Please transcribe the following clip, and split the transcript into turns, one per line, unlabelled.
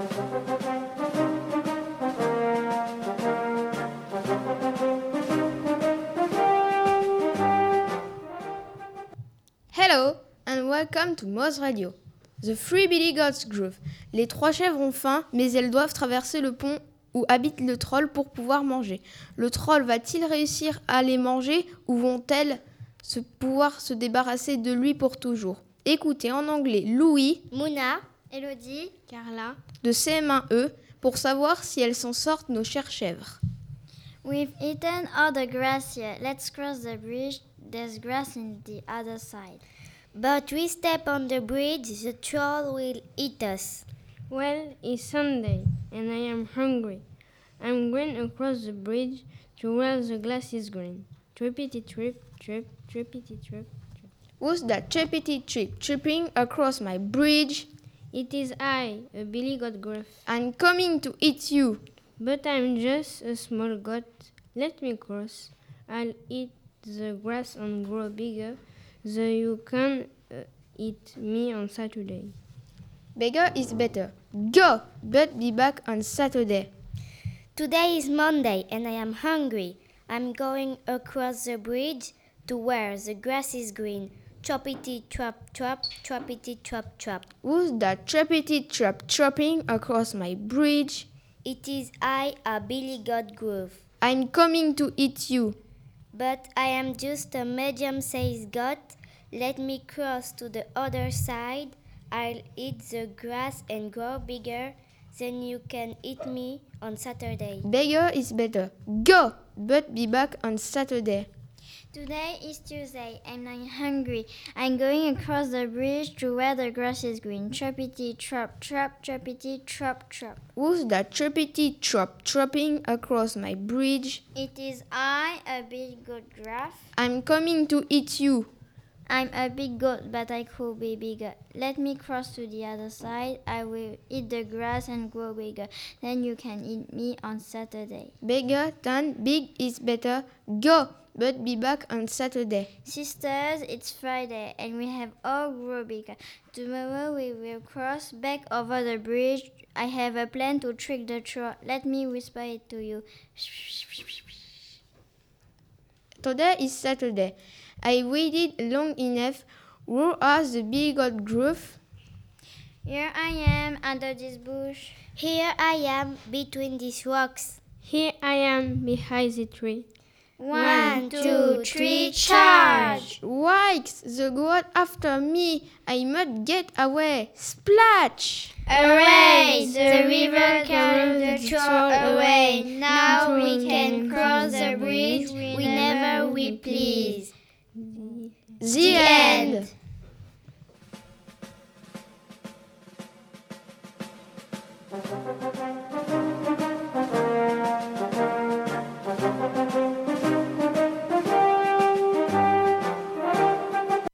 Hello and welcome to Moz Radio. The Three Billy Goats Groove. Les trois chèvres ont faim, mais elles doivent traverser le pont où habite le troll pour pouvoir manger. Le troll va-t-il réussir à les manger ou vont-elles pouvoir se débarrasser de lui pour toujours? Écoutez en anglais Louis,
Mouna, Elodie,
Carla,
de CM1E pour savoir si elles s'en sortent, nos chères chèvres.
we've eaten all the grass here. Let's cross the bridge. There's grass on the other side.
But we step on the bridge, the troll will eat us.
well, it's Sunday and I am hungry. I'm going across the bridge to where the grass is green. Trippity trip, trip, trippity trip.
Who's that trippity trip tripping across my bridge?
It is I, a Billy Goat Gruff.
I'm coming to eat you.
But I'm just a small goat. Let me cross. I'll eat the grass and grow bigger, so you can eat me on Saturday.
Bigger is better. Go, but be back on Saturday.
Today is Monday and I am hungry. I'm going across the bridge to where the grass is green. Choppity trap trap, choppity trap trap.
Who's that trippity trap trapping across my bridge?
It is I, a Billy Goat Groove.
I'm coming to eat you.
But I am just a medium-sized goat. Let me cross to the other side. I'll eat the grass and grow bigger. Then you can eat me on Saturday.
Bigger is better. Go, but be back on Saturday.
Today is Tuesday and I'm hungry. I'm going across the bridge to where the grass is green. Trappity trap trap, trappity trap trap.
Who's that trippity trap trapping across my bridge?
It is I, a big goat giraffe.
I'm coming to eat you.
I'm a big goat, but I could be bigger. Let me cross to the other side. I will eat the grass and grow bigger. Then you can eat me on Saturday.
Bigger than big is better. Go, but be back on Saturday.
Sisters, it's Friday and we have all grown bigger. Tomorrow we will cross back over the bridge. I have a plan to trick the troll. Let me whisper it to you.
Today is Saturday. I waited long enough. Where are the big old groove?
Here I am under this bush.
Here I am between these rocks.
Here I am behind the tree.
1, 2, 3, charge!
Yikes! The goat after me. I must get away. Splash!
Hooray! The river carried the troll away. Now we can cross the bridge whenever we please.
The end.